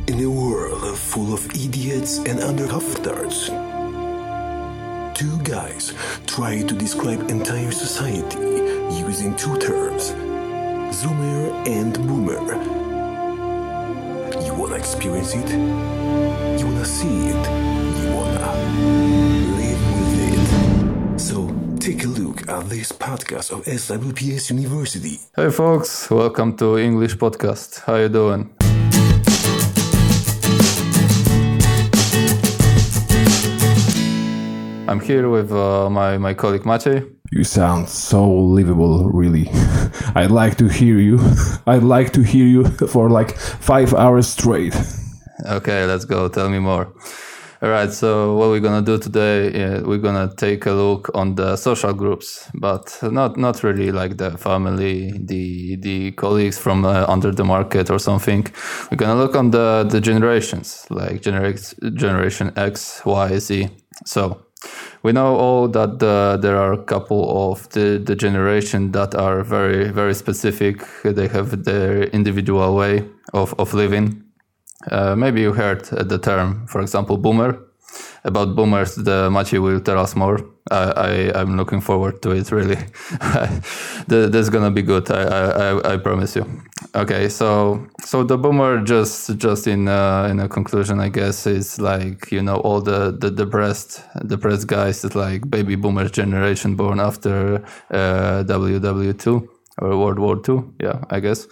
In a world full of idiots and undercovtards, two guys try to describe entire society using two terms, Zoomer and Boomer. You wanna experience it? You wanna see it? You wanna live with it? So take a look at this podcast of SWPS University. Hey folks, welcome to English Podcast. How you doing? I'm here with my colleague Maciej. You sound so livable, really. I'd like to hear you. I'd like to hear you for like 5 hours straight. Okay, let's go. Tell me more. All right, so what we're going to do today, we're going to take a look on the social groups, but not really like the family, the colleagues from under the market or something. We're going to look on the generations, like generation X, Y, Z. So we know all that there are a couple of the generation that are very, very specific. They have their individual way of living. Maybe you heard the term, for example, boomer. About boomers, the Maciej will tell us more. I'm looking forward to it, really. This is gonna be good. I promise you. Okay, so the boomer just in a conclusion, I guess, is like, you know, all the depressed guys that like baby boomer generation born after WW2 or World War II. Yeah, I guess.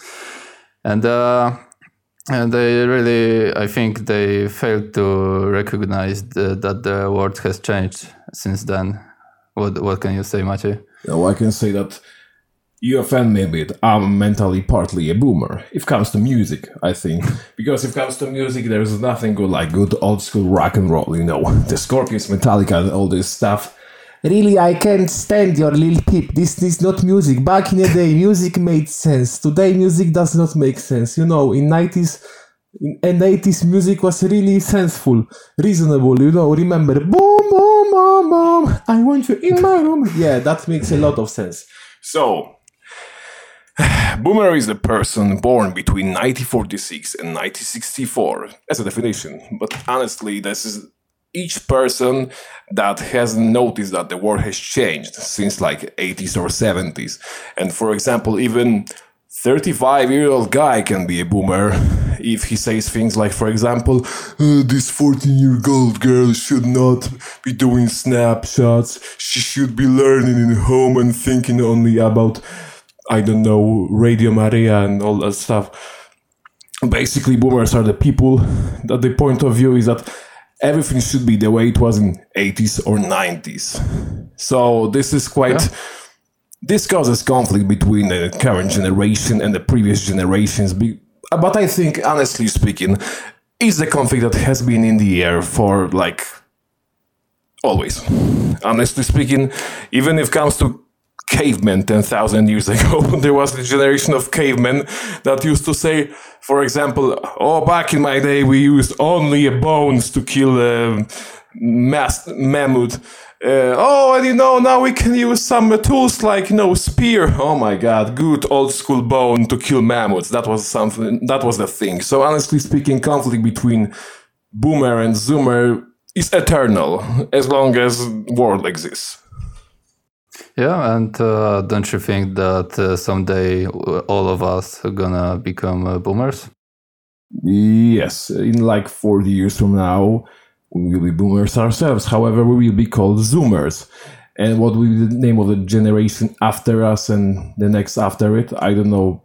And they really, I think they failed to recognize that the world has changed since then. What can you say, Maciej? Well, I can say that you offend me a bit. I'm mentally partly a boomer. If it comes to music, I think. Because if it comes to music, there's nothing good like good old school rock and roll, you know. The Scorpions, Metallica, and all this stuff. Really, I can't stand your Lil Peep. This is not music. Back in the day, music made sense. Today, music does not make sense. You know, in 90s and 80s, music was really senseful, reasonable. You know, remember, boom, boom, boom, boom, I want you in my room. Yeah, that makes a lot of sense. So, boomer is a person born between 1946 and 1964, as a definition. But honestly, this is each person that hasn't noticed that the world has changed since like 80s or 70s. And for example, even 35-year-old guy can be a boomer if he says things like, for example, this 14-year-old girl should not be doing snapshots. She should be learning in home and thinking only about, I don't know, Radio Maria and all that stuff. Basically, boomers are the people that the point of view is that everything should be the way it was in 80s or 90s. So this is quite... Yeah. This causes conflict between the current generation and the previous generations. But I think, honestly speaking, it's a conflict that has been in the air for, like, always. Honestly speaking, even if it comes to cavemen 10,000 years ago, there was a generation of cavemen that used to say, for example, oh, back in my day we used only bones to kill a mammoth. And you know, now we can use some tools like, you know, spear. Oh my god, good old school bone to kill mammoths. That was the thing. So honestly speaking, conflict between boomer and zoomer is eternal as long as world exists. Yeah, and don't you think that someday all of us are gonna become boomers? Yes, in like 40 years from now, we will be boomers ourselves. However, we will be called zoomers. And what will be the name of the generation after us and the next after it? I don't know.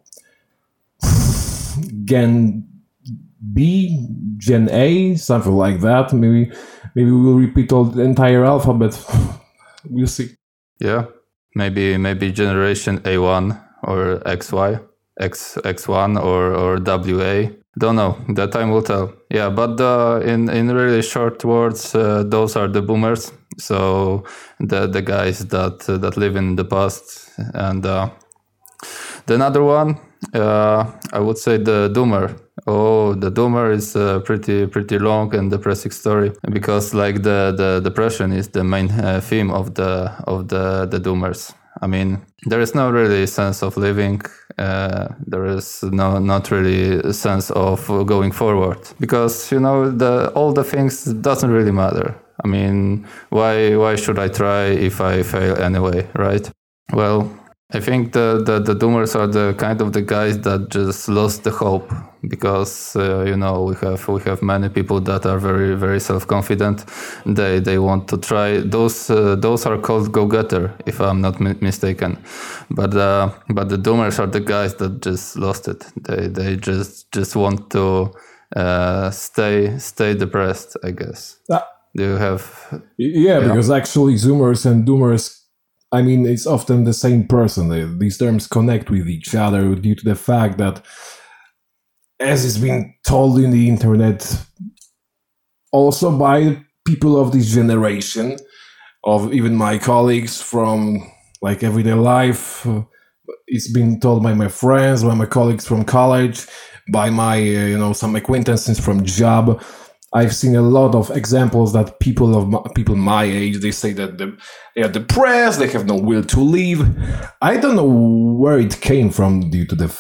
Gen B, Gen A, something like that. Maybe we will repeat all the entire alphabet. We'll see. Yeah, maybe generation A1 or XY, X1 or WA. Don't know. The time will tell. Yeah, but in really short words, those are the boomers. So the guys that live in the past, and the another one, I would say the doomer. Oh, the doomer is a pretty long and depressing story, because like the depression is the main theme of the doomers. I mean, there is no really sense of living, there is not really a sense of going forward, because all the things doesn't really matter. I mean, why should I try if I fail anyway, right? Well, I think the doomers are the kind of the guys that just lost the hope, because we have many people that are very, very self-confident. They want to try. Those are called go-getter, if I'm not mistaken. But the doomers are the guys that just lost it. They just want to stay depressed, I guess. Do you have? Yeah, because actually zoomers and doomers, I mean, it's often the same person. These terms connect with each other due to the fact that, as is being told in the internet, also by people of this generation, of even my colleagues from like everyday life, it's been told by my friends, by my colleagues from college, by my some acquaintances from job. I've seen a lot of examples that people my age, they say that they are depressed, they have no will to live. I don't know where it came from, due to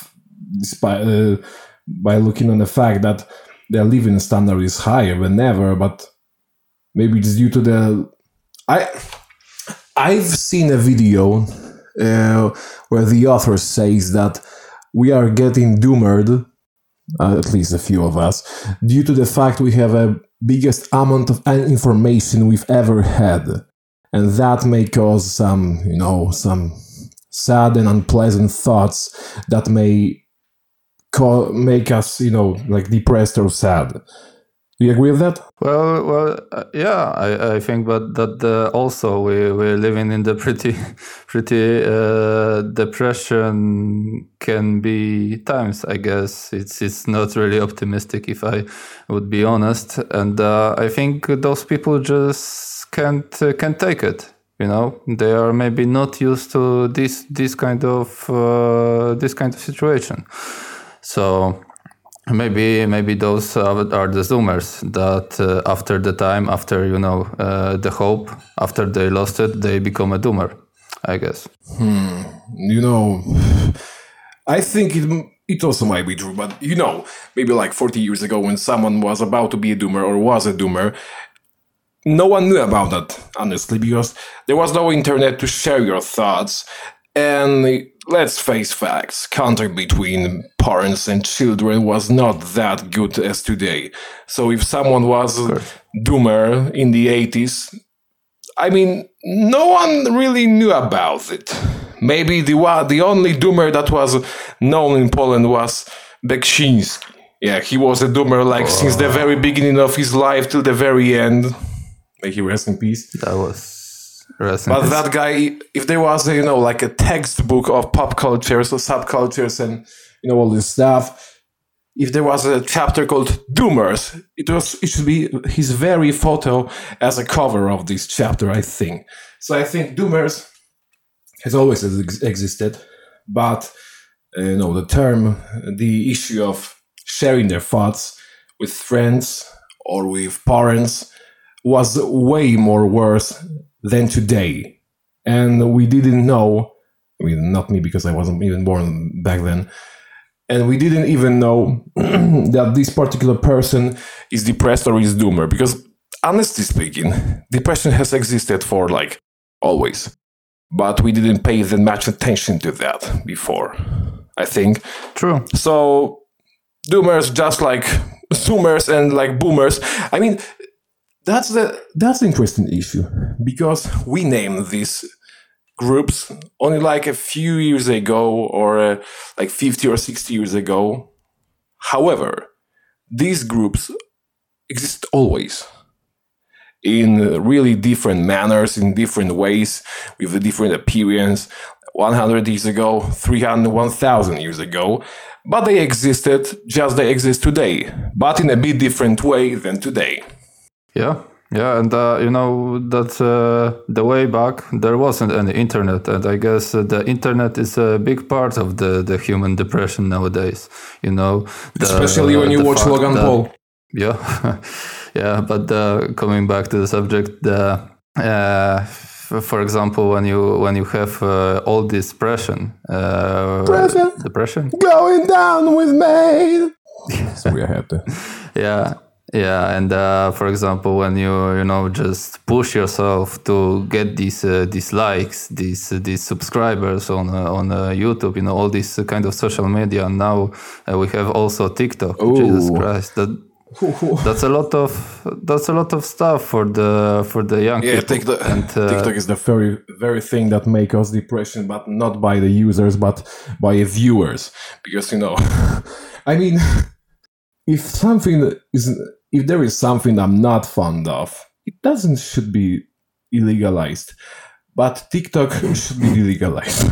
by looking on the fact that their living standard is higher than ever, but maybe it's due to I've seen a video where the author says that we are getting doomered, at least a few of us, due to the fact we have a biggest amount of information we've ever had. And that may cause some sad and unpleasant thoughts that may make us, like depressed or sad. Do you agree with that? Well, yeah, I think, but that also we're living in the pretty depression can be times. I guess it's not really optimistic, if I would be honest, and I think those people just can't take it. They are maybe not used to this kind of situation, so. Maybe those are the zoomers that after the hope, after they lost it, they become a doomer, I guess. I think it also might be true, but maybe like 40 years ago, when someone was about to be a doomer or was a doomer, no one knew about that, honestly, because there was no internet to share your thoughts. And let's face facts, contact between parents and children was not that good as today. So if someone was a doomer in the 80s, I mean, no one really knew about it. Maybe the only doomer that was known in Poland was Beksiński. Yeah, he was a doomer since the very beginning of his life till the very end. May he rest in peace. That was... But that guy, if there was like a textbook of pop cultures or subcultures and all this stuff, if there was a chapter called Doomers, it should be his very photo as a cover of this chapter, I think. So I think Doomers has always existed, but the term, the issue of sharing their thoughts with friends or with parents was way more worse than today. And we didn't know, I mean, not me, because I wasn't even born back then, and we didn't even know that this particular person is depressed or is doomer, because honestly speaking, depression has existed for always, but we didn't pay that much attention to that before, I think. True. So doomers, just like zoomers and boomers, I mean, that's the interesting issue, because we named these groups only a few years ago, or 50 or 60 years ago. However, these groups exist always in really different manners, in different ways, with a different appearance. 100 years ago, 300, 1,000 years ago, but they existed just they exist today, but in a bit different way than today. Yeah, and that the way back there wasn't any internet, and I guess the internet is a big part of the human depression nowadays. Especially when you watch Logan Paul. Yeah, yeah. But coming back to the subject, for example, when you have all this depression, going down with me. So we had to. Yeah, and for example, when you just push yourself to get these likes, these subscribers on YouTube, all this kind of social media, and now we have also TikTok. Ooh. Jesus Christ, that's a lot of stuff for the young people. TikTok is the very very thing that makes us depression, but not by the users, but by the viewers, because I mean, if there is something I'm not fond of, it should be illegalized, but TikTok should be illegalized.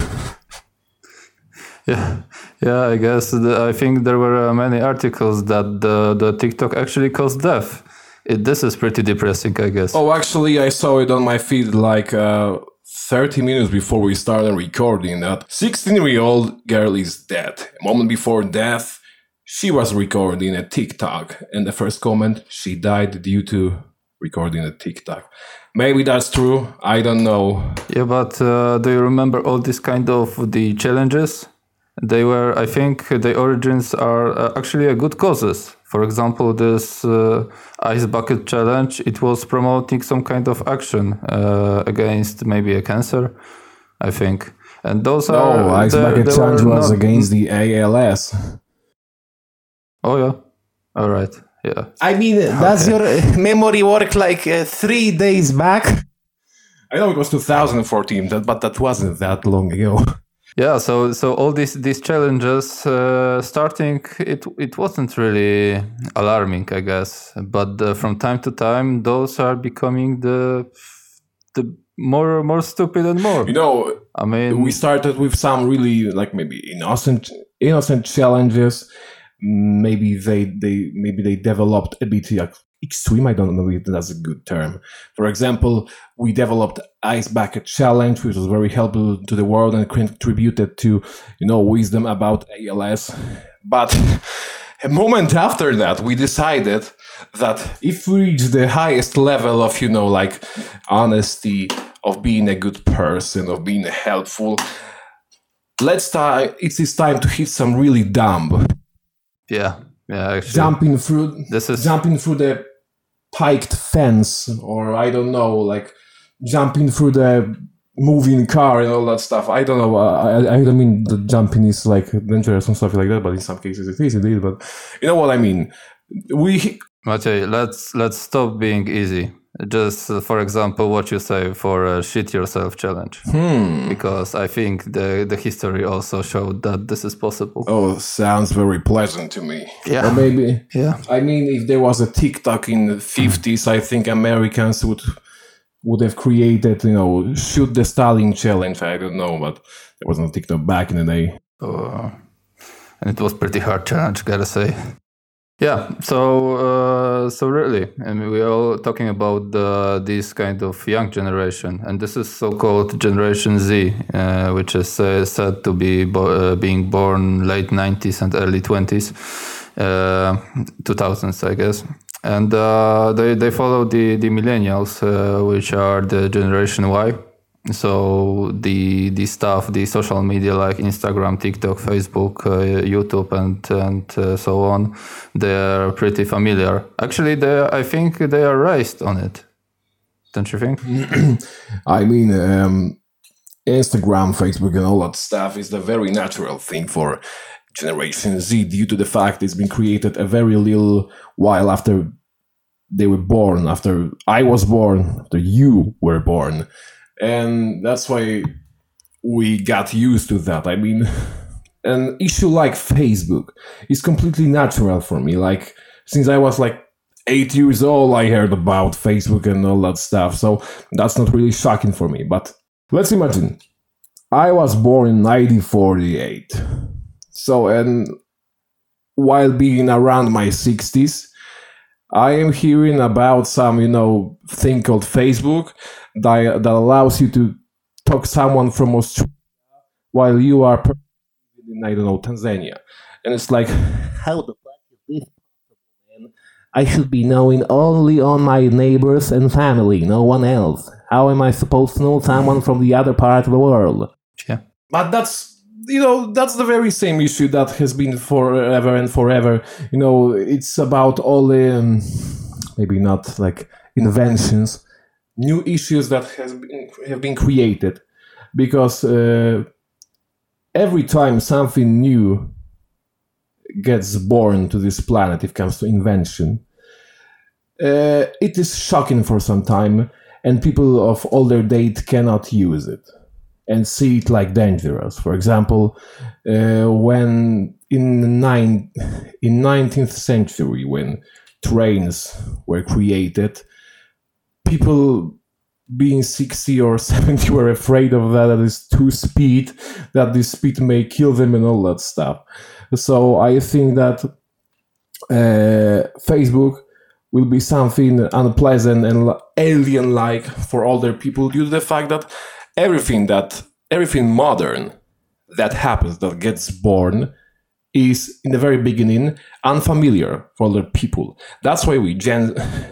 Yeah, I guess I think there were many articles that the TikTok actually caused death. This is pretty depressing, I guess. Oh, actually, I saw it on my feed like 30 minutes before we started recording that 16-year-old girl is dead. A moment before death, she was recording a TikTok, and the first comment, she died due to recording a TikTok. Maybe that's true. I don't know. Yeah, but do you remember all these kind of the challenges? They were, I think, the origins are actually a good causes. For example, this ice bucket challenge, it was promoting some kind of action against maybe a cancer, I think. And those are... No, ice bucket challenge was against the ALS. Oh, yeah. All right. Yeah. I mean, does your memory work like 3 days back? I know it was 2014, but that wasn't that long ago. Yeah, so all these challenges starting, it wasn't really alarming, I guess. But from time to time, those are becoming the more stupid and more. I mean, we started with some really like maybe innocent challenges. Maybe they developed a bit extreme. I don't know if that's a good term. For example, we developed Ice Bucket Challenge, which was very helpful to the world and contributed to wisdom about ALS. But a moment after that, we decided that if we reach the highest level of like honesty, of being a good person, of being helpful, it's time to hit some really dumb. Yeah, actually. Jumping through the piked fence, or I don't know, like jumping through the moving car and all that stuff. I don't know. I don't mean the jumping is like dangerous and stuff like that, but in some cases it is indeed. But you know what I mean. Maciej, let's stop being easy. Just for example, what you say for a shit yourself challenge, because I think the history also showed that this is possible. Oh, sounds very pleasant to me. Yeah, or maybe. Yeah, I mean, if there was a TikTok in the 50s, I think Americans would have created, shoot the Stalin challenge. I don't know, but there was no TikTok back in the day. And it was pretty hard challenge, gotta say. Yeah, so really, I mean, we are all talking about this kind of young generation, and this is so-called Generation Z, which is said to be being born late 90s and early 20s, 2000s, I guess. And they follow the millennials, which are the Generation Y. So the stuff, the social media like Instagram, TikTok, Facebook, YouTube, and so on, they're pretty familiar. Actually, I think they are raised on it. Don't you think? I mean, Instagram, Facebook, and all that stuff is the very natural thing for Generation Z due to the fact it's been created a very little while after they were born, after I was born, after you were born. And that's why we got used to that. I mean, an issue like Facebook is completely natural for me. Like, since I was like 8 years old, I heard about Facebook and all that stuff. So that's not really shocking for me. But let's imagine, I was born in 1948. So, and while being around my 60s, I am hearing about some, thing called Facebook that allows you to talk to someone from Australia while you are in, I don't know, Tanzania. And it's like, how the fuck is this possible, man? I should be knowing only on my neighbors and family, no one else. How am I supposed to know someone from the other part of the world? Yeah. But that's the very same issue that has been forever and forever. It's about all the maybe not like inventions, new issues that have been created, because every time something new gets born to this planet, if it comes to invention, it is shocking for some time, and people of older date cannot use it and see it like dangerous. For example, when in 19th century, when trains were created, people being 60 or 70 were afraid of that it's too speed, that this speed may kill them and all that stuff. So I think that Facebook will be something unpleasant and alien-like for older people due to the fact that everything modern that happens, that gets born, is in the very beginning unfamiliar for older people. That's why we Gen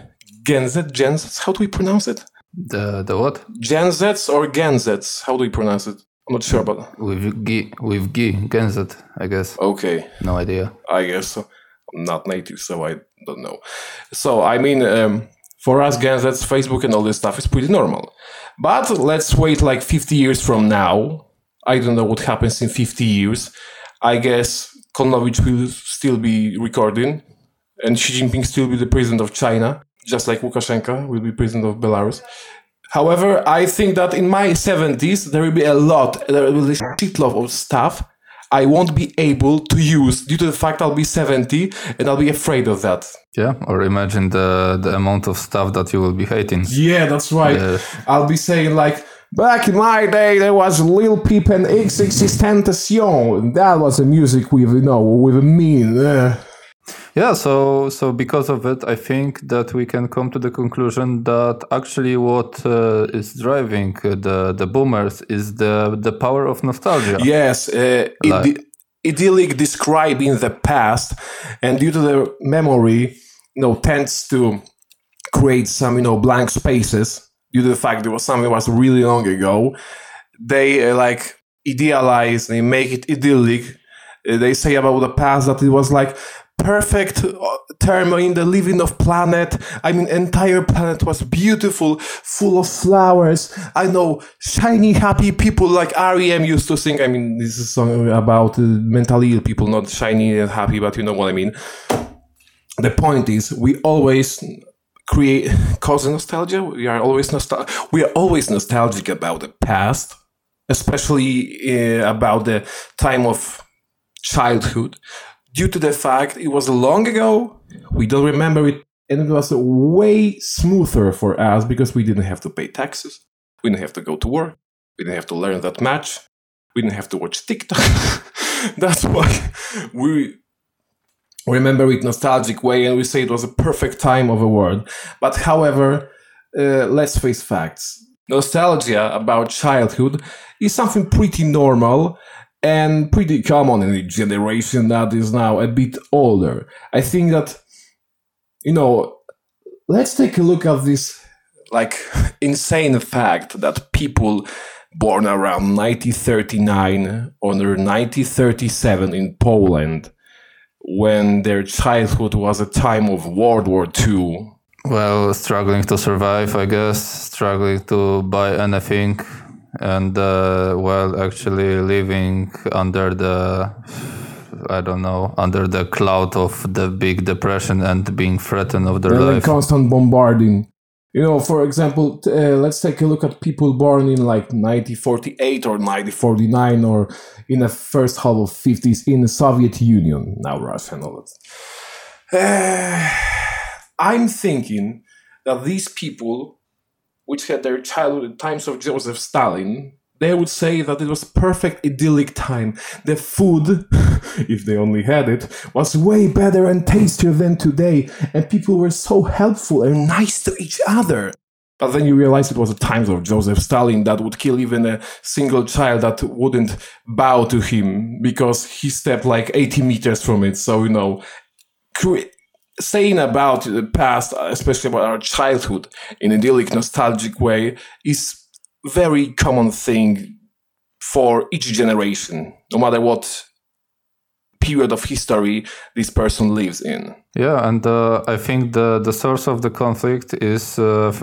Z, how do we pronounce it? The what? Gen Zs or Gen Zs? How do we pronounce it? I'm not sure about with G, Gen Z, I guess. Okay. No idea. I guess so. I'm not native, so I don't know. So, I mean, for us Gen Zs, Facebook and all this stuff is pretty normal. But let's wait like 50 years from now. I don't know what happens in 50 years. I guess Kononowicz will still be recording and Xi Jinping still be the president of China, just like Lukashenko will be president of Belarus. However, I think that in my 70s, there will be a shitload of stuff I won't be able to use due to the fact I'll be 70 and I'll be afraid of that. Yeah, or imagine the amount of stuff that you will be hating. Yeah, that's right. I'll be saying like, back in my day, there was Lil Peep and XXXTentacion. That was a music with a mean. Yeah, so because of it, I think that we can come to the conclusion that actually what is driving the boomers is the power of nostalgia. Yes, idyllic describing the past, and due to the memory, tends to create some blank spaces due to the fact there was something that was really long ago. They idealize, they make it idyllic. They say about the past that it was like perfect term in the living of planet. I mean, entire planet was beautiful, full of flowers. I know, shiny, happy people like R.E.M. used to sing. I mean, this is a song about mentally ill people, not shiny and happy, but you know what I mean. The point is, we always cause nostalgia. We are always nostalgic about the past, especially about the time of childhood. Due to the fact it was long ago, we don't remember it, and it was way smoother for us because we didn't have to pay taxes, we didn't have to go to work, we didn't have to learn that much, we didn't have to watch TikTok. That's why we remember it nostalgic way, and we say it was a perfect time of the world. But however, let's face facts. Nostalgia about childhood is something pretty normal and pretty common in a generation that is now a bit older. I think that, let's take a look at this insane fact that people born around 1939 or 1937 in Poland, when their childhood was a time of World War II. Well, struggling to survive, I guess, struggling to buy anything. And actually living under the cloud of the big depression and being threatened of their life. Constant bombarding. For example, let's take a look at people born in 1948 or 1949 or in the first half of 50s in the Soviet Union, now Russia and all that. I'm thinking that these people, which had their childhood in times of Joseph Stalin, they would say that it was a perfect idyllic time. The food, if they only had it, was way better and tastier than today, and people were so helpful and nice to each other. But then you realize it was the times of Joseph Stalin that would kill even a single child that wouldn't bow to him because he stepped 80 meters from it. So, saying about the past, especially about our childhood, in an idyllic, nostalgic way, is very common thing for each generation, no matter what period of history this person lives in. Yeah, and I think the source of the conflict is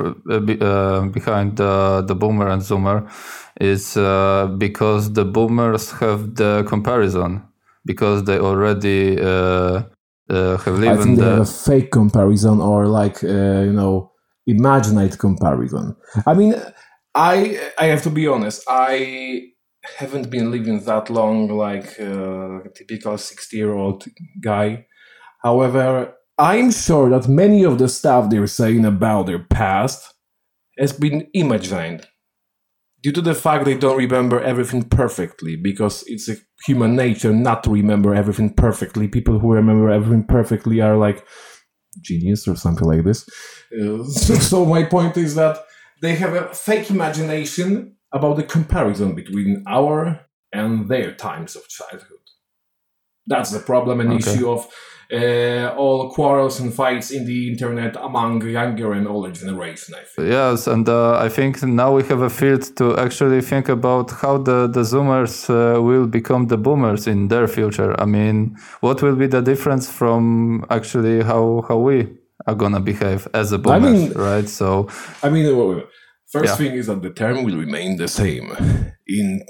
behind the boomer and zoomer is because the boomers have the comparison, because they already have lived I think in they have a fake comparison or like, imaginate comparison. I mean, I have to be honest, I haven't been living that long like a typical 60-year-old guy. However, I'm sure that many of the stuff they're saying about their past has been imagined due to the fact they don't remember everything perfectly, because it's a human nature not to remember everything perfectly. People who remember everything perfectly are like genius or something like this. So my point is that they have a fake imagination about the comparison between our and their times of childhood. That's the problem and issue of all quarrels and fights in the internet among younger and older generation, I think. Yes, and I think now we have a field to actually think about how the Zoomers will become the boomers in their future. I mean, what will be the difference from actually how we are gonna behave as a boomers, right? So, First thing is that the term will remain the same. In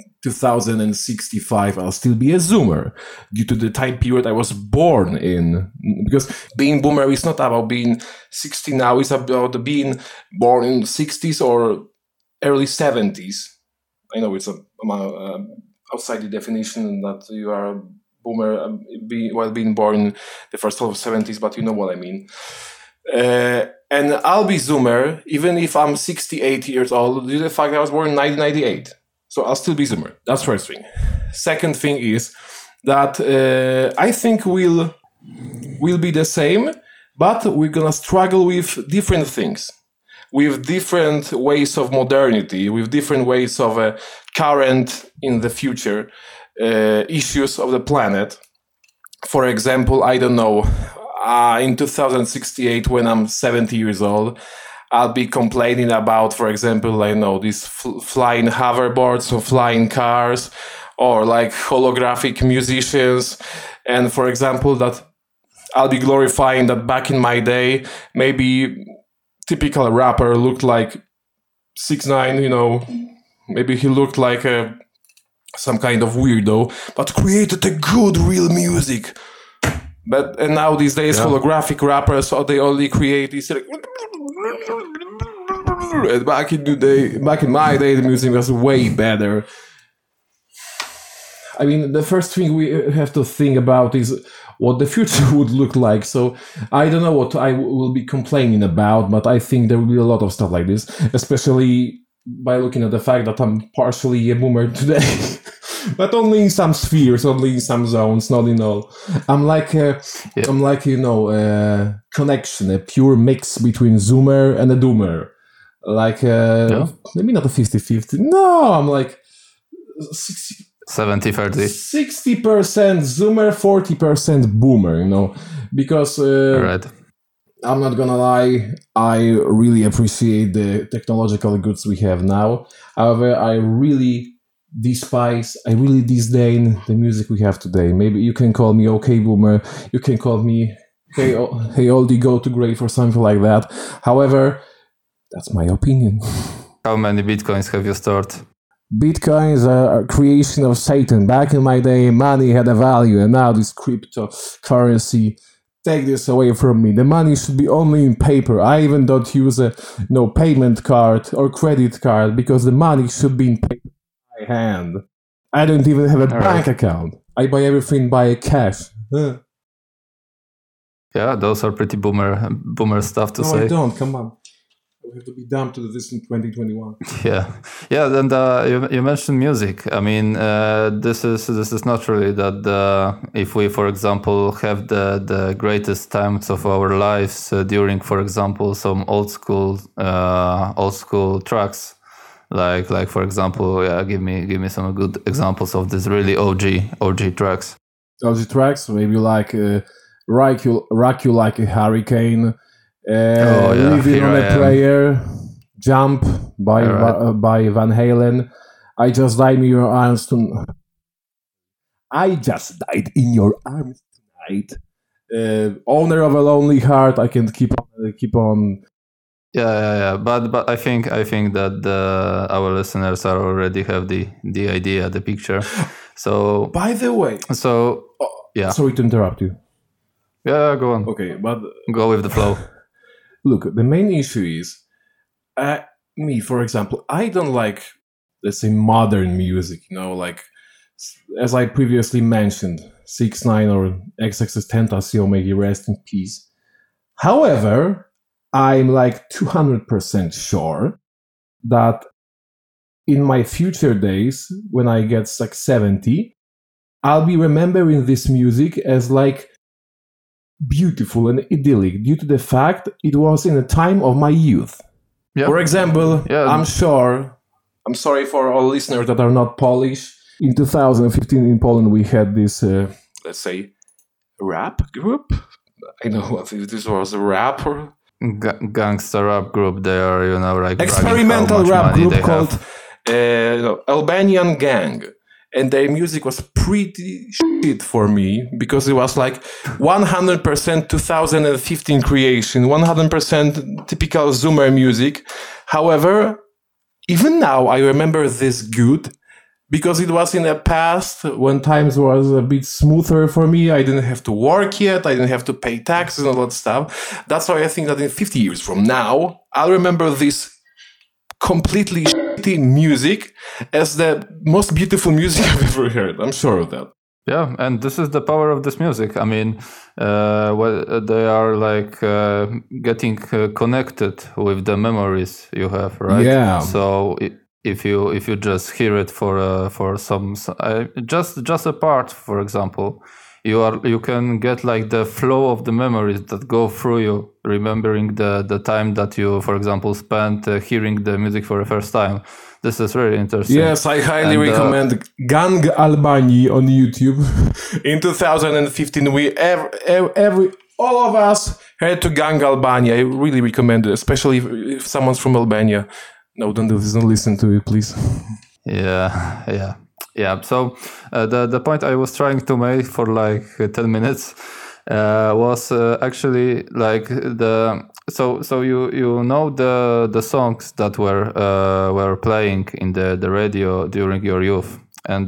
2065, I'll still be a Zoomer due to the time period I was born in. Because being Boomer is not about being 60 now, it's about being born in 60s or early 70s. I know it's outside the definition that you are a Boomer while being born the first half of 70s, but you know what I mean. And I'll be Zoomer even if I'm 68 years old due to the fact that I was born in 1998. So I'll still be Zoomer. That's first thing. Second thing is that I think we'll be the same, but we're gonna struggle with different things, with different ways of modernity, with different ways of current in the future issues of the planet. For example, I don't know. In 2068, when I'm 70 years old, I'll be complaining about, for example, I know these flying hoverboards or flying cars, or like holographic musicians. And for example, that I'll be glorifying that back in my day, maybe typical rapper looked like 6ix9ine, maybe he looked like some kind of weirdo, but created a good, real music. And now these days, holographic rappers, they only create these like. Back in my day, the music was way better. I mean, the first thing we have to think about is what the future would look like. So I don't know what I will be complaining about, but I think there will be a lot of stuff like this, especially by looking at the fact that I'm partially a boomer today. But only in some spheres, only in some zones, not in all. I'm like connection, a pure mix between Zoomer and a Doomer. Like, maybe not a 50-50. No, I'm like 70-30. 60% Zoomer, 40% Boomer, because right. I'm not gonna lie, I really appreciate the technological goods we have now. However, I really disdain the music we have today. Maybe you can call me okay Boomer, you can call me hey oldie go to grave or something like that. However, that's my opinion. How many bitcoins have you stored? Bitcoins are a creation of Satan. Back in my day, money had a value, and now this cryptocurrency take this away from me. The money should be only in paper. I even don't use a payment card or credit card, because the money should be in paper. Hand. I don't even have a bank account. I buy everything by cash. Yeah, those are pretty boomer stuff to say. No, I don't. Come on. We have to be dumb to do this in 2021. Yeah. And you mentioned music. I mean, this is not really that if we, for example, have the greatest times of our lives during, for example, some old school tracks. Like for example, give me some good examples of these really OG tracks. OG tracks, maybe like Rock You Like a Hurricane, yeah, Living Here on I a Am. Prayer, Jump by by Van Halen, I Just Died in Your Arms Tonight. I Just Died in Your Arms Tonight. Owner of a Lonely Heart. I can keep on. Yeah. But I think that our listeners are already have the idea, the picture. So By the way, yeah. Sorry to interrupt you. Yeah, go on. Okay, but Go with the flow. look, the main issue is me, for example. I don't like, let's say, modern music. Like as I previously mentioned, 6ix9ine or XXXTentacion, may he rest in peace. However, I'm like 200% sure that in my future days, when I get like 70, I'll be remembering this music as like beautiful and idyllic due to the fact it was in a time of my youth. Yeah. For example, Yeah. I'm sorry for all listeners that are not Polish. In 2015 in Poland, we had this, let's say, rap group. I don't know if this was a rap or Gangster rap group. They are, like experimental rap group called have. Albanian Gang. And their music was pretty shit for me because it was like 100% 2015 creation, 100% typical Zoomer music. However, even now I remember this good because it was in the past when times was a bit smoother for me. I didn't have to work yet. I didn't have to pay taxes and all that stuff. That's why I think that in 50 years from now, I'll remember this completely shitty music as the most beautiful music I've ever heard. I'm sure of that. Yeah, and this is the power of this music. I mean, they are like getting connected with the memories you have, right? Yeah. So if you just hear it for some just a part, for example, you can get like the flow of the memories that go through you, remembering the time that you, for example, spent hearing the music for the first time. This is really interesting. Yes, I highly recommend Gang Albanii on YouTube. In 2015, we all of us heard to Gang Albania. I really recommend it, especially if someone's from Albania. No, don't listen to it, please. Yeah. So the point I was trying to make for like 10 minutes was actually like so you know the songs that were playing in the radio during your youth, and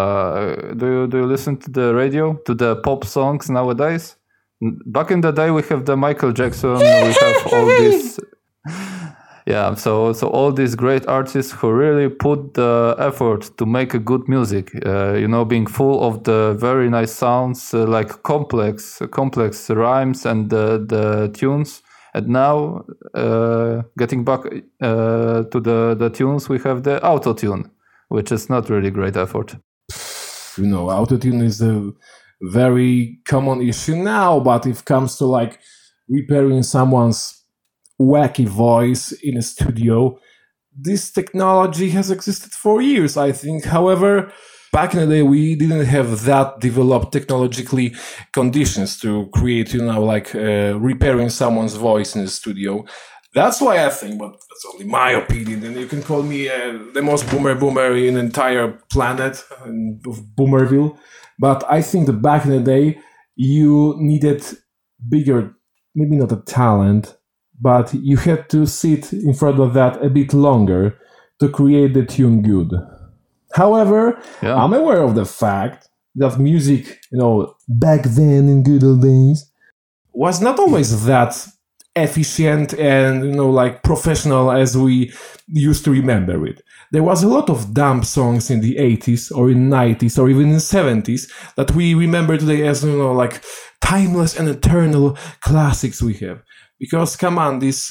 do you listen to the radio, to the pop songs nowadays? Back in the day, we have the Michael Jackson, we have all this. Yeah, so all these great artists who really put the effort to make a good music, being full of the very nice sounds, like complex rhymes and the tunes. And now, getting back to the tunes, we have the auto-tune, which is not really great effort. Auto-tune is a very common issue now, but if it comes to like repairing someone's wacky voice in a studio, this technology has existed for years, I think. However, back in the day, we didn't have that developed technologically conditions to create, repairing someone's voice in the studio. That's why I think, but that's only my opinion, and you can call me the most boomer in the entire planet of Boomerville. But I think that back in the day, you needed bigger, maybe not a talent, but you had to sit in front of that a bit longer to create the tune good. However, I'm aware of the fact that music, back then in good old days, was not always that efficient and, professional as we used to remember it. There was a lot of dumb songs in the 80s or in 90s or even in the 70s that we remember today as, timeless and eternal classics we have. Because, come on, this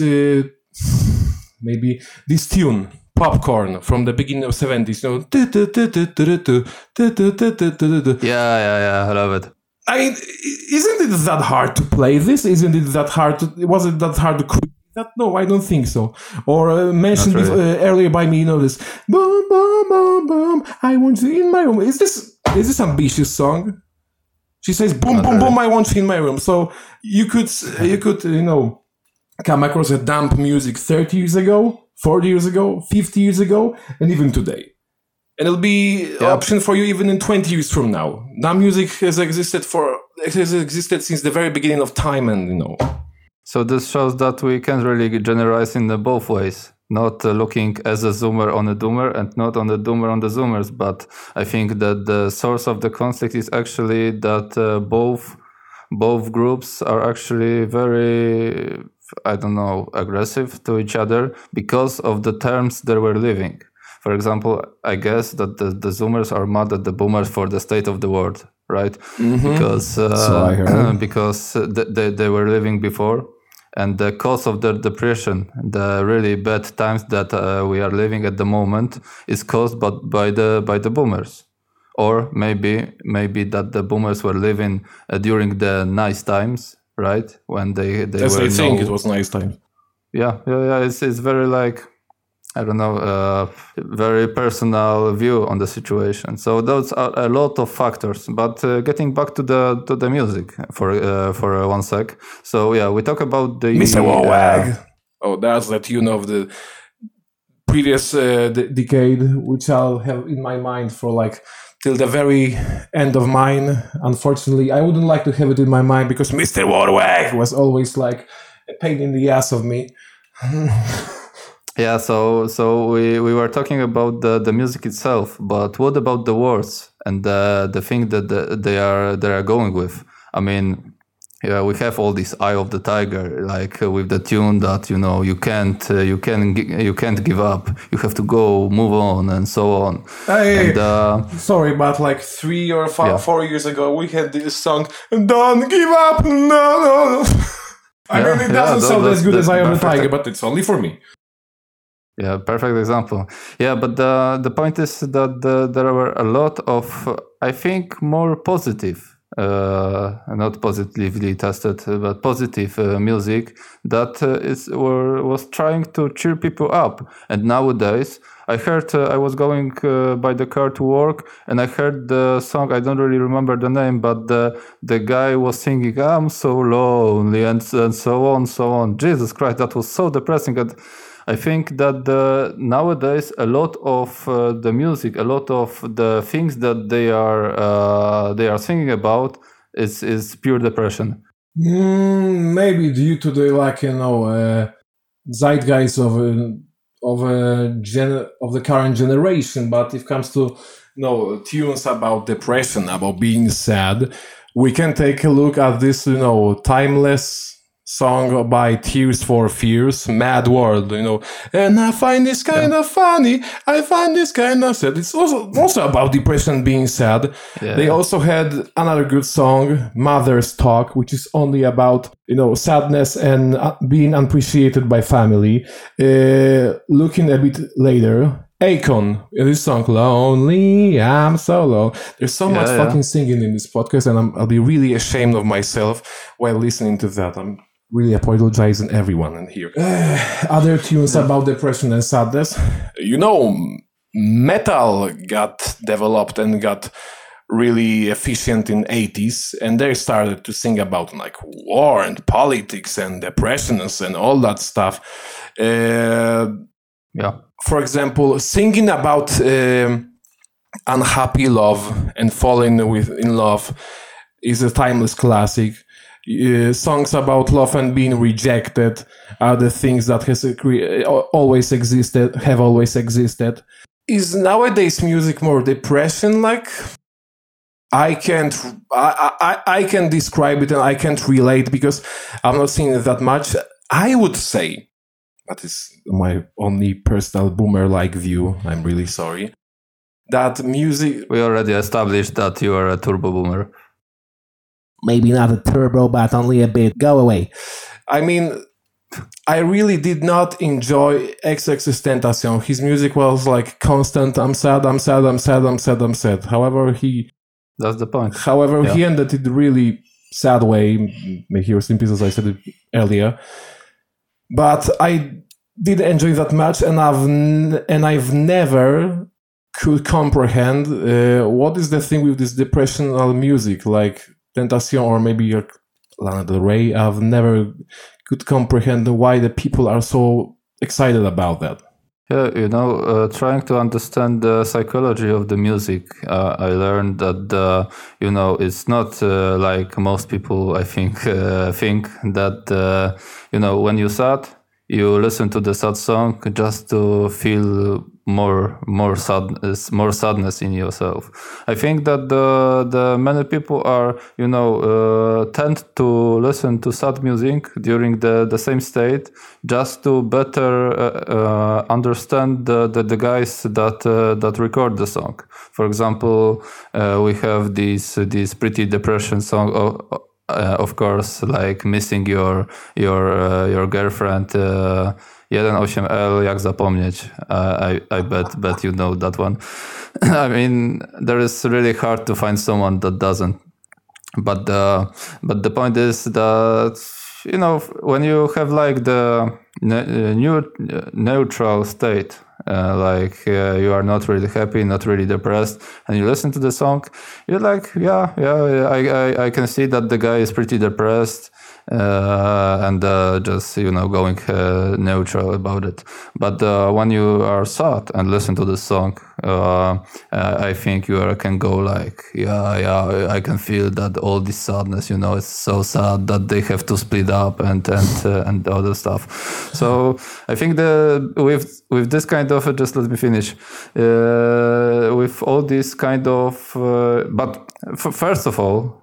tune, Popcorn, from the beginning of 70s, Yeah, I love it. I mean, isn't it that hard to play this? Was it that hard to create that? No, I don't think so. Or mentioned earlier by me, this boom, boom, boom, boom, I want you in my room. Is this ambitious song? She says, boom, boom, boom, I want you in my room. So you could, come across a dump music 30 years ago, 40 years ago, 50 years ago, and even today. And it'll be an option for you even in 20 years from now. Dump music has existed since the very beginning of time, and So this shows that we can't really generalize in both ways. Not looking as a zoomer on a doomer and not on the doomer on the zoomers. But I think that the source of the conflict is actually that both groups are actually very, aggressive to each other because of the terms they were living. For example, I guess that the zoomers are mad at the boomers for the state of the world, right? Mm-hmm. Because they were living before. And the cause of the depression, the really bad times that we are living at the moment, is caused by the boomers, or maybe that the boomers were living during the nice times, right? When they yes, were. I think it was nice time. Yeah. It's very very personal view on the situation. So those are a lot of factors. But getting back to the music for 1 sec. So yeah, we talk about the Mr. Warwag. That's the tune of the previous decade, which I'll have in my mind for till the very end of mine. Unfortunately, I wouldn't like to have it in my mind because Mr. Warwag was always a pain in the ass of me. Yeah, so we were talking about the music itself, but what about the words and the thing that they are going with? I mean, yeah, we have all this Eye of the Tiger, with the tune that you can't give up, you have to go, move on, and so on. Sorry, but 3 or 4 years ago, we had this song, "Don't Give Up, no." I mean, it doesn't sound as good as Eye of the Tiger, but it's only for me. Yeah, perfect example. Yeah, but the point is that there were a lot of, I think, more positive, not positively tested, but positive music that was trying to cheer people up. And nowadays, I heard, I was going by the car to work, and I heard the song, I don't really remember the name, but the guy was singing, "I'm so lonely," and so on. Jesus Christ, that was so depressing. And I think that nowadays a lot of the music, a lot of the things that they are singing about is pure depression. Maybe due to the zeitgeist of the current generation. But if it comes to tunes about depression, about being sad, we can take a look at this timeless song by Tears for Fears, "Mad World," and I find this kind of funny, I find this kind of sad. It's also about depression, being sad. Yeah. They also had another good song, "Mother's Talk," which is only about, sadness and being unappreciated by family. Looking a bit later, Akon, this song, "Lonely, I'm so low." There's so much fucking singing in this podcast, and I'll be really ashamed of myself while listening to that. I'm really apologizing everyone in here. Other tunes about depression and sadness. Metal got developed and got really efficient in 80s, and they started to sing about war and politics and depressions and all that stuff. For example, singing about unhappy love and falling in love is a timeless classic. Songs about love and being rejected are the things that have always existed. Is nowadays music more depression? I can describe it and I can't relate because I'm not seeing it that much. I would say, that is my only personal boomer-like view, I'm really sorry, that music... We already established that you are a turbo boomer. Maybe not a turbo, but only a bit. Go away. I mean, I really did not enjoy XXXTentacion. His music was constant, I'm sad. However, that's the point. However, he ended it really sad way. May he rest in peace, as I said it earlier. But I did enjoy that much, and I've never could comprehend what is the thing with this depressional music. Tentacion or maybe Lana Del Rey, I've never could comprehend why the people are so excited about that. Yeah, trying to understand the psychology of the music, I learned that, it's not like most people, I think that, when you're sad, you listen to the sad song just to feel more sadness in yourself. I think that the many people are tend to listen to sad music during the same state just to better understand the guys that record the song. For example, we have these pretty depression song. Of course, like Missing Your Girlfriend, 1.8L, Jak zapomnieć. I bet you know that one. I mean, there is really hard to find someone that doesn't. But the point is that when you have like the neutral state, you are not really happy, not really depressed, and you listen to the song, you're like, I can see that the guy is pretty depressed, and just going neutral about it. But when you are sad and listen to the song, I think you can go like, I can feel that all this sadness, it's so sad that they have to split up and other stuff. So I think with this kind of, just let me finish, with all this kind of, but first of all,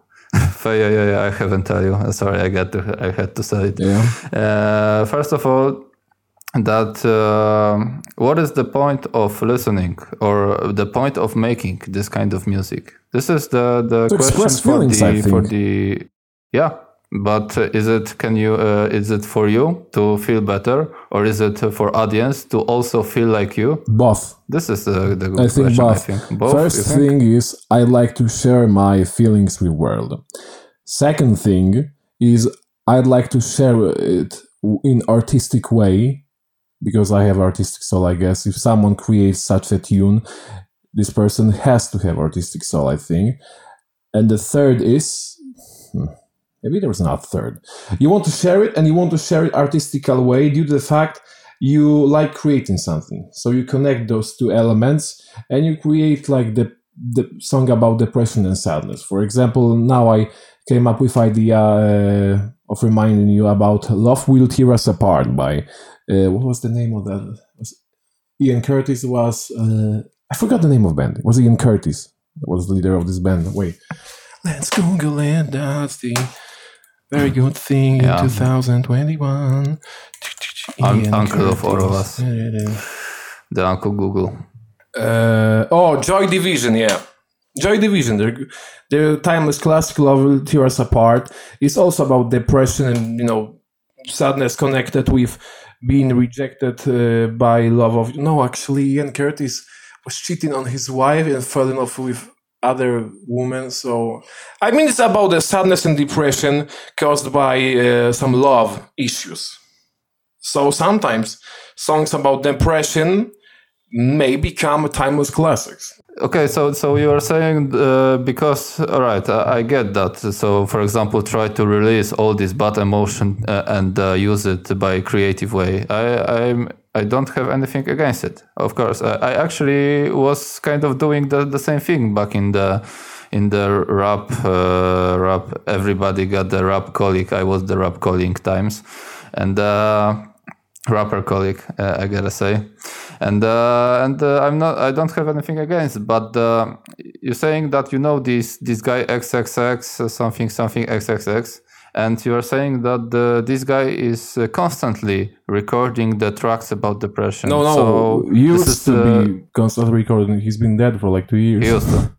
I haven't tell you. Sorry, I had to say it. Yeah. First of all, that what is the point of listening or the point of making this kind of music? This is the question for the yeah. But is it for you to feel better, or is it for audience to also feel like you? Both. This is the good I think question. both. Both. First thing is I like to share my feelings with world. Second thing is I'd like to share it in artistic way, because I have artistic soul. I guess if someone creates such a tune, this person has to have artistic soul, I think. And the third is. Maybe there's not a third. You want to share it, and you want to share it artistical way due to the fact you like creating something. So you connect those two elements, and you create like the song about depression and sadness. For example, now I came up with idea of reminding you about "Love Will Tear Us Apart" by what was the name of that? Ian Curtis was. I forgot the name of the band. It was Ian Curtis that was the leader of this band. Wait, let's Google it. That's the very good thing in 2021. Uncle of all of us. The Uncle Google. Joy Division, yeah. Joy Division, their timeless classic "Love Will Tear Us Apart" is also about depression and, sadness connected with being rejected by love of... No, actually, Ian Curtis was cheating on his wife and fell in love with other women. So I mean, it's about the sadness and depression caused by some love issues. So sometimes songs about depression may become timeless classics. Okay, so you are saying because all right, I get that. So for example, try to release all this bad emotion and use it by a creative way. I don't have anything against it. Of course, I actually was kind of doing the same thing back in the rap. Everybody got the rap colleague. I was the rap colleague times, and rapper colleague. I gotta say, and I don't have anything against. But you're saying that this guy XXX something XXX. And you are saying that this guy is constantly recording the tracks about depression. No, so he used to be constantly recording. He's been dead for like 2 years. He used to.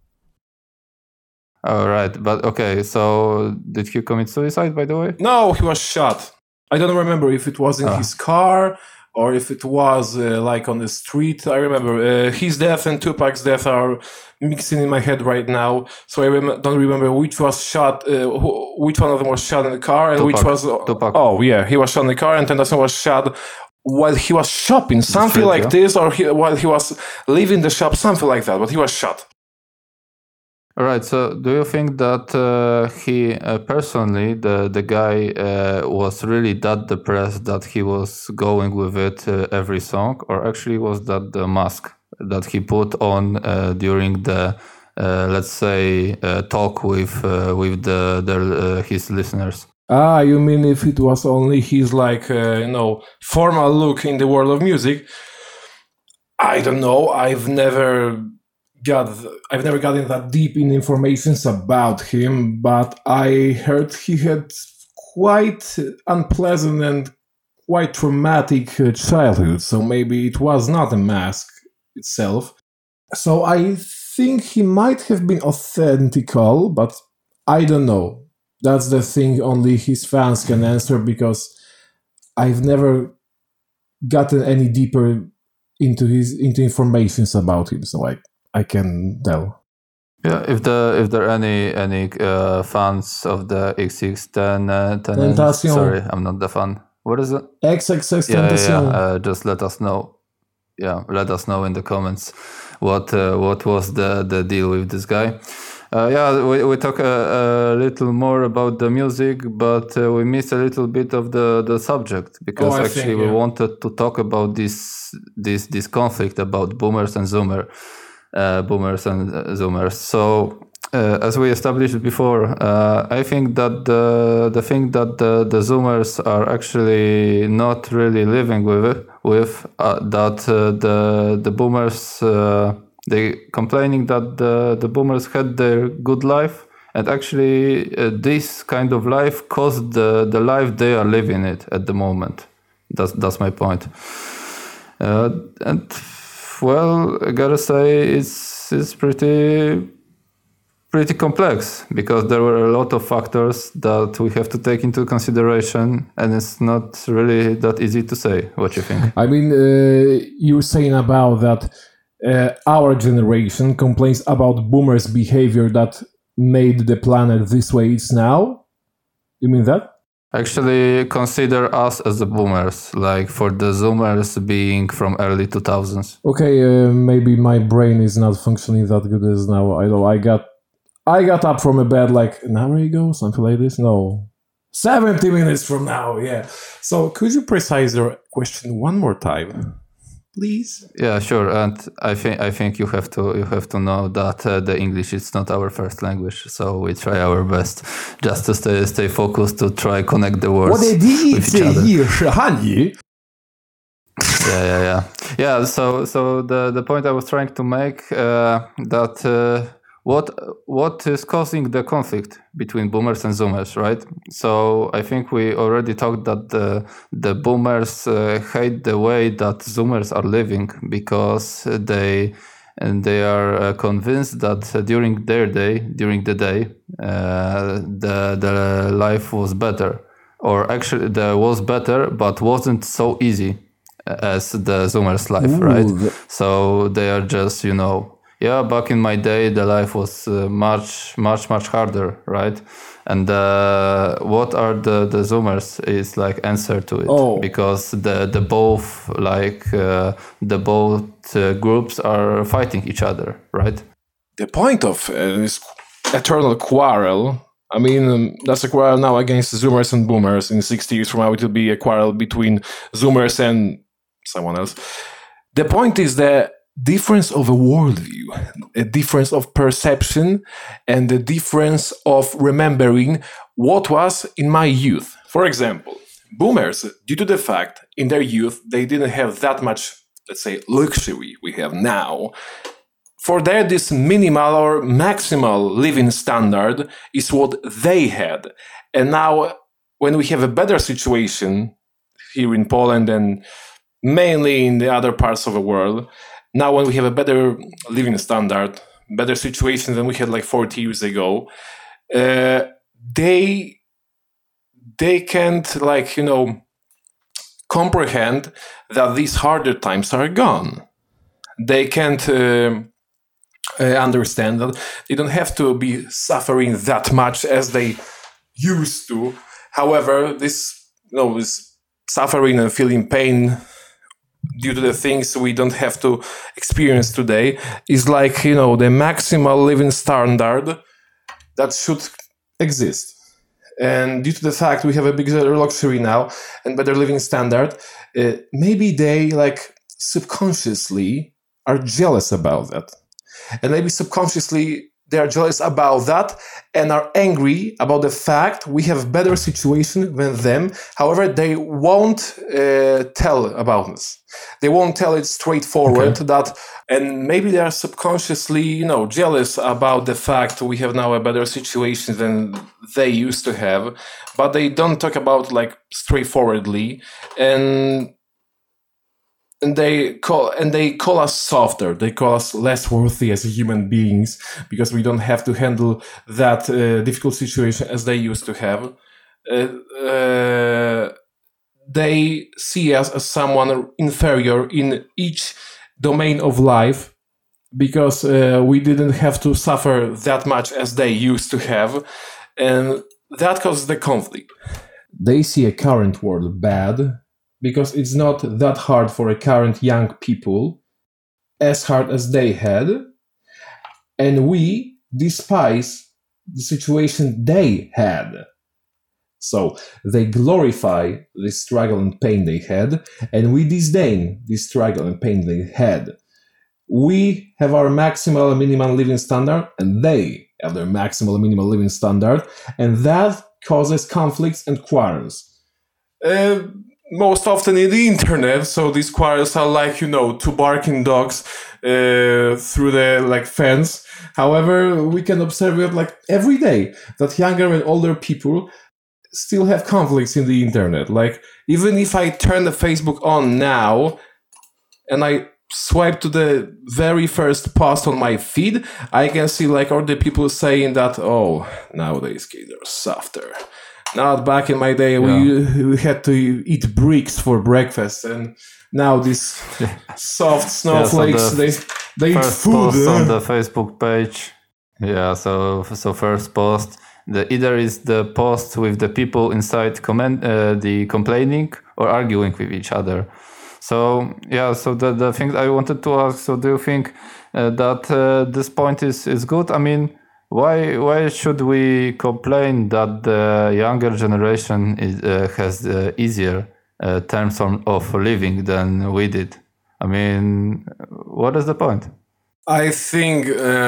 All right, but okay. So did he commit suicide, by the way? No, he was shot. I don't remember if it was in his car or if it was like on the street. I remember his death and Tupac's death are mixing in my head right now, so I don't remember which was shot, which one of them was shot in the car, and Tupac. which was... Tupac. Oh, yeah, he was shot in the car, and Tentacion was shot while he was shopping, something like this, or while he was leaving the shop, something like that, but he was shot. All right. So, do you think that he personally, the guy, was really that depressed that he was going with it every song, or actually was that the mask that he put on during the, let's say, talk with his listeners? Ah, you mean if it was only his formal look in the world of music? I don't know. I've never gotten that deep in informations about him, but I heard he had quite unpleasant and quite traumatic childhood, so maybe it was not a mask itself. So I think he might have been authentical, but I don't know. That's the thing only his fans can answer, because I've never gotten any deeper into informations about him, so I can tell. Yeah, if there are any fans of the XX10, Tentacion. sorry, I'm not the fan. What is it? XXX Yeah, Tentacion. just let us know. Yeah, let us know in the comments what was the deal with this guy. We talk a little more about the music, but we missed a little bit of the subject, because we wanted to talk about this conflict about boomers and zoomers. So as we established before, I think that the thing that the zoomers are actually not really living with the boomers. They complaining that the boomers had their good life, and actually this kind of life caused the life they are living it at the moment. That's my point. And well, I gotta say it's pretty complex, because there were a lot of factors that we have to take into consideration, and it's not really that easy to say. What you think? I mean, you were saying about that. Our generation complains about boomers' behavior that made the planet this way it's now? You mean that? Actually, consider us as the boomers, like for the zoomers being from early 2000s. Okay, maybe my brain is not functioning that good as now. I know I got up from a bed like an hour ago, something like this. No, 70 minutes from now. Yeah. So could you precise your question one more time, please? Yeah, sure. And I think you have to know that the English is not our first language, so we try our best just to stay focused, to try connect the words with each other. Yeah. So the point I was trying to make, that what is causing the conflict between boomers and zoomers, right? So I think we already talked that the boomers hate the way that zoomers are living, because they are convinced that during the day the life was better, or actually there was better but wasn't so easy as the zoomers' life. Ooh. Right? So they are just, back in my day, the life was much harder, right? And what are the zoomers is like answer to it. Because the both groups are fighting each other, right? The point of this eternal quarrel, I mean, that's a quarrel now against zoomers and boomers. In 60 years from now, it will be a quarrel between zoomers and someone else. The point is the difference of a worldview, a difference of perception, and the difference of remembering what was in my youth. For example, boomers, due to the fact in their youth they didn't have that much, let's say, luxury we have now, for them this minimal or maximal living standard is what they had. And now when we have a better situation here in Poland and mainly in the other parts of the world, now when we have a better living standard, better situation than we had like 40 years ago, they can't comprehend that these harder times are gone. They can't understand that they don't have to be suffering that much as they used to. However, this suffering and feeling pain due to the things we don't have to experience today, is like, the maximal living standard that should exist. And due to the fact we have a bigger luxury now and better living standard, maybe they like subconsciously are jealous about that. And maybe subconsciously they are jealous about that and are angry about the fact we have better situation than them. However, they won't tell about us. They won't tell it straightforward that, and maybe they are subconsciously, jealous about the fact we have now a better situation than they used to have, but they don't talk about like straightforwardly, and they call us softer. They call us less worthy as human beings because we don't have to handle that difficult situation as they used to have. They see us as someone inferior in each domain of life because we didn't have to suffer that much as they used to have, and that causes the conflict. They see a current world bad because it's not that hard for a current young people, as hard as they had, and we despise the situation they had. So they glorify the struggle and pain they had, and we disdain the struggle and pain they had. We have our maximal and minimal living standard, and they have their maximal and minimal living standard, and that causes conflicts and quarrels. Most often in the internet, so these quarrels are like, two barking dogs through the fence. However, we can observe it every day that younger and older people still have conflicts in the internet. Even if I turn the Facebook on now and I swipe to the very first post on my feed, I can see all the people saying that, oh, nowadays kids are softer. Not back in my day, we had to eat bricks for breakfast, and now these soft snowflakes, they eat food. Post on the Facebook page. Yeah, so first post, either is the post with the people inside the complaining or arguing with each other. So the thing I wanted to ask, so do you think that this point is good? I mean, why should we complain that the younger generation has easier terms of living than we did? I mean, what is the point? I think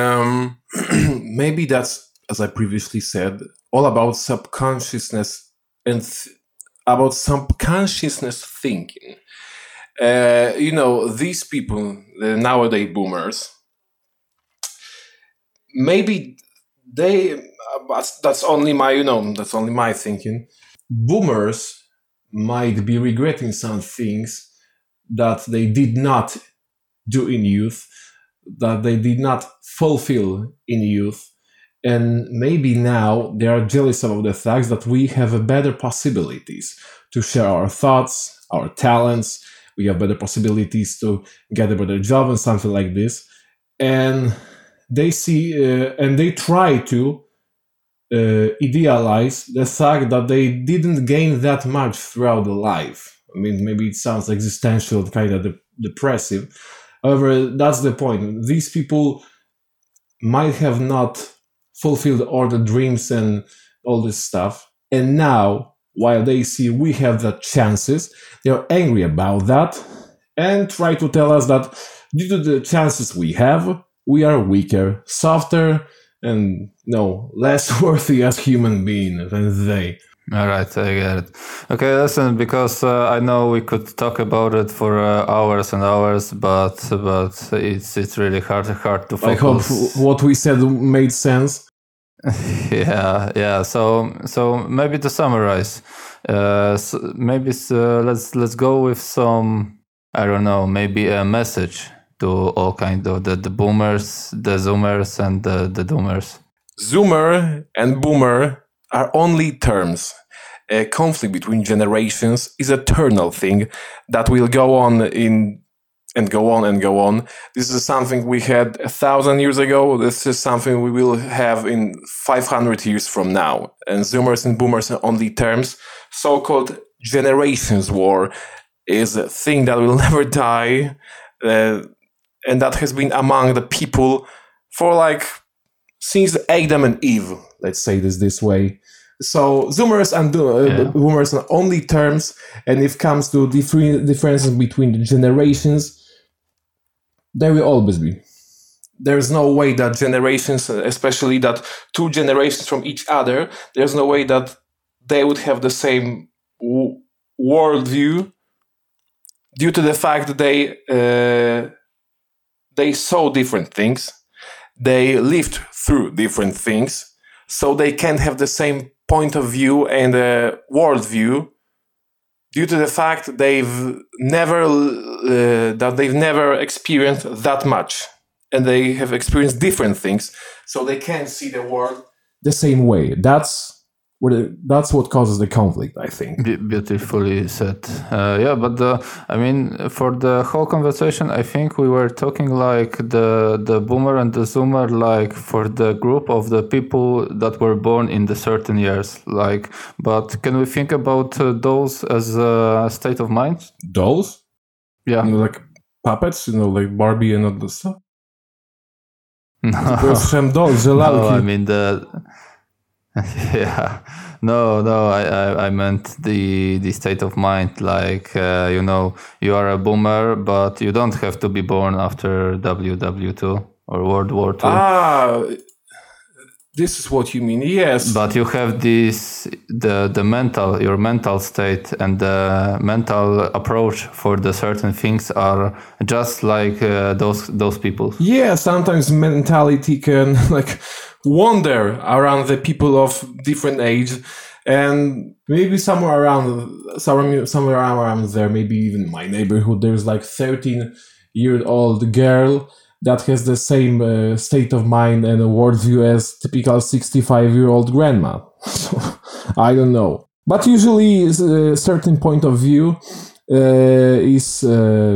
maybe that's, as I previously said, all about subconsciousness and about subconsciousness thinking. These people, the nowadays boomers, maybe that's only my thinking. Boomers might be regretting some things that they did not do in youth, that they did not fulfill in youth, and maybe now they are jealous about the fact that we have better possibilities to share our thoughts, our talents. We have better possibilities to get a better job and something like this, and they see and they try to idealize the fact that they didn't gain that much throughout the life. I mean, maybe it sounds existential, kind of depressive. However, that's the point. These people might have not fulfilled all the dreams and all this stuff. And now, while they see we have the chances, they are angry about that and try to tell us that due to the chances we have, we are weaker, softer, and less worthy as human beings than they. All right, I get it. Okay, listen, because I know we could talk about it for hours and hours, but it's really hard to focus. I hope what we said made sense. Yeah. So maybe to summarize, let's go with some, I don't know, maybe a message to all kind of the boomers, the zoomers, and the doomers. Zoomer and boomer are only terms. A conflict between generations is an eternal thing that will go on and go on. This is something we had 1,000 years ago. This is something we will have in 500 years from now. And zoomers and boomers are only terms. So-called generations war is a thing that will never die, and that has been among the people for like since Adam and Eve. Let's say this way. So Zoomers and Boomers are only terms, and if it comes to differences between the generations, there will always be. There's no way that generations, especially that two generations from each other, there's no way that they would have the same worldview due to the fact that they saw different things, they lived through different things, so they can't have the same point of view and worldview due to the fact they've never experienced that much, and they have experienced different things, so they can't see the world the same way. That's what causes the conflict, I think. Beautifully said. But for the whole conversation, I think we were talking like the boomer and the zoomer, like for the group of the people that were born in the certain years. Like, but can we think about those as a state of mind? Dolls? Yeah. Like puppets, like Barbie and all this stuff? No. Dolls, no, I mean yeah, no, I meant the state of mind, like you are a boomer, but you don't have to be born after WW2 or World War II. This is what you mean, yes. But you have your mental state and the mental approach for the certain things are just like those people. Yeah, sometimes mentality can like wander around the people of different age, and maybe somewhere around there, maybe even my neighborhood, there's like 13-year-old girl that has the same state of mind and a worldview as typical 65-year-old grandma. So, I don't know. But usually a certain point of view is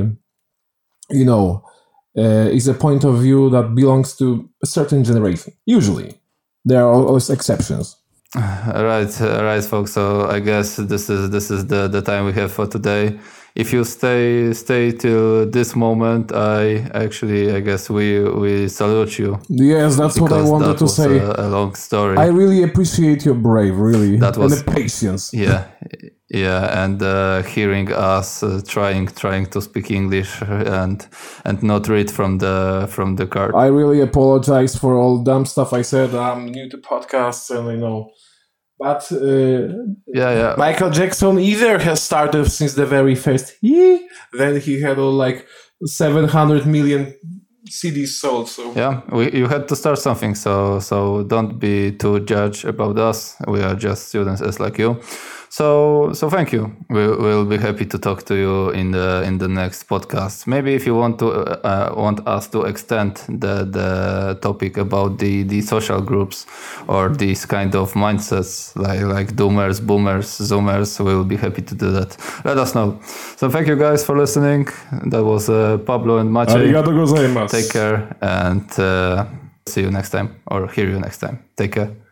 a point of view that belongs to a certain generation. Usually. There are always exceptions. Right, folks. So I guess this is the time we have for today. If you stay till this moment, I guess we salute you. Yes, that's what I wanted to say. A long story. I really appreciate your bravery and the patience. Yeah, and hearing us trying to speak English and not read from the card. I really apologize for all dumb stuff I said. I'm new to podcasts, and but Michael Jackson either has started since the very first then he had all like 700 million CDs sold. So yeah, you had to start something. So don't be too judged about us. We are just students as like you. So thank you. We'll be happy to talk to you in the next podcast. Maybe if you want us to extend the topic about the social groups or these kind of mindsets like doomers, boomers, zoomers, we'll be happy to do that. Let us know. So thank you guys for listening. That was Pablo and Maciej. Arigato gozaimasu. Take care and see you next time or hear you next time. Take care.